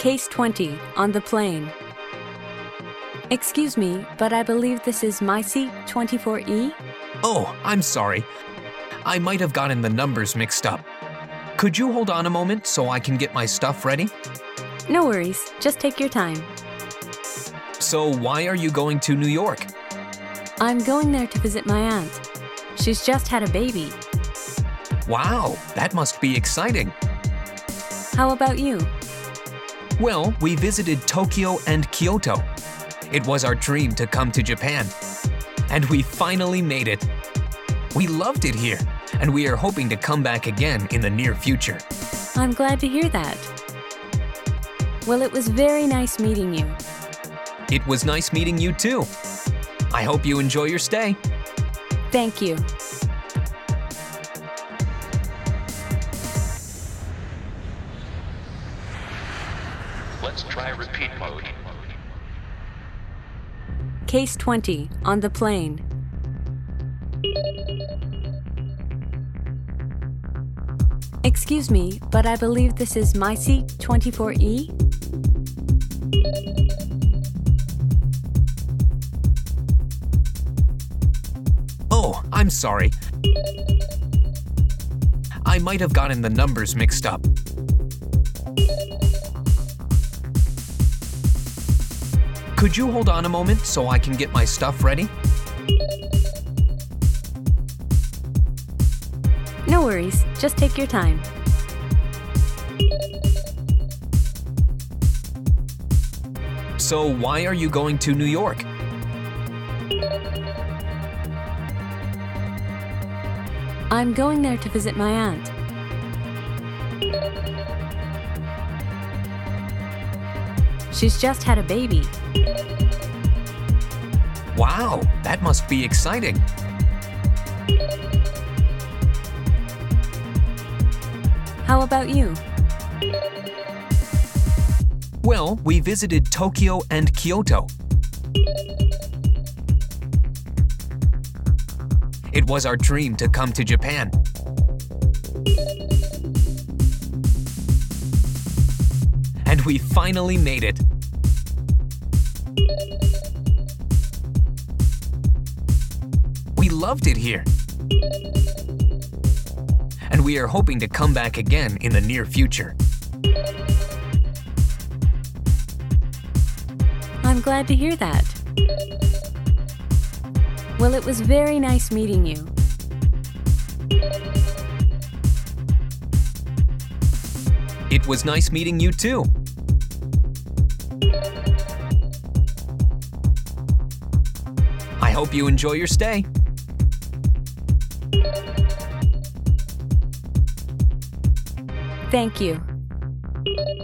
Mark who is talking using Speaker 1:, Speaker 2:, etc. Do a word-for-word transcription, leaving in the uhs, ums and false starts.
Speaker 1: Case twenty, on the plane. Excuse me, but I believe this is my seat twenty-four E?
Speaker 2: Oh, I'm sorry. I might have gotten the numbers mixed up. Could you hold on a moment so I can get my stuff ready?
Speaker 1: No worries, just take your time.
Speaker 2: So why are you going to New York?
Speaker 1: I'm going there to visit my aunt. She's just had a baby.
Speaker 2: Wow, that must be exciting.
Speaker 1: How about you?
Speaker 2: Well, we visited Tokyo and Kyoto. It was our dream to come to Japan. And we finally made it. We loved it here, and we are hoping to come back again in the near future.
Speaker 1: I'm glad to hear that. Well, it was very nice meeting you.
Speaker 2: It was nice meeting you too. I hope you enjoy your stay.
Speaker 1: Thank you.
Speaker 3: Let's try repeat mode.
Speaker 1: Case twenty, on the plane. Excuse me, but I believe this is my seat twenty-four E?
Speaker 2: Oh, I'm sorry. I might have gotten the numbers mixed up. Could you hold on a moment so I can get my stuff ready?
Speaker 1: No worries, just take your time.
Speaker 2: So why are you going to New York?
Speaker 1: I'm going there to visit my aunt. She's just had a baby.
Speaker 2: Wow, that must be exciting.
Speaker 1: How about you?
Speaker 2: Well, we visited Tokyo and Kyoto. It was our dream to come to Japan. And we finally made it. We loved it here. And we are hoping to come back again in the near future.
Speaker 1: I'm glad to hear that. Well, it was very nice meeting you.
Speaker 2: It was nice meeting you too. I hope you enjoy your stay.
Speaker 1: Thank you.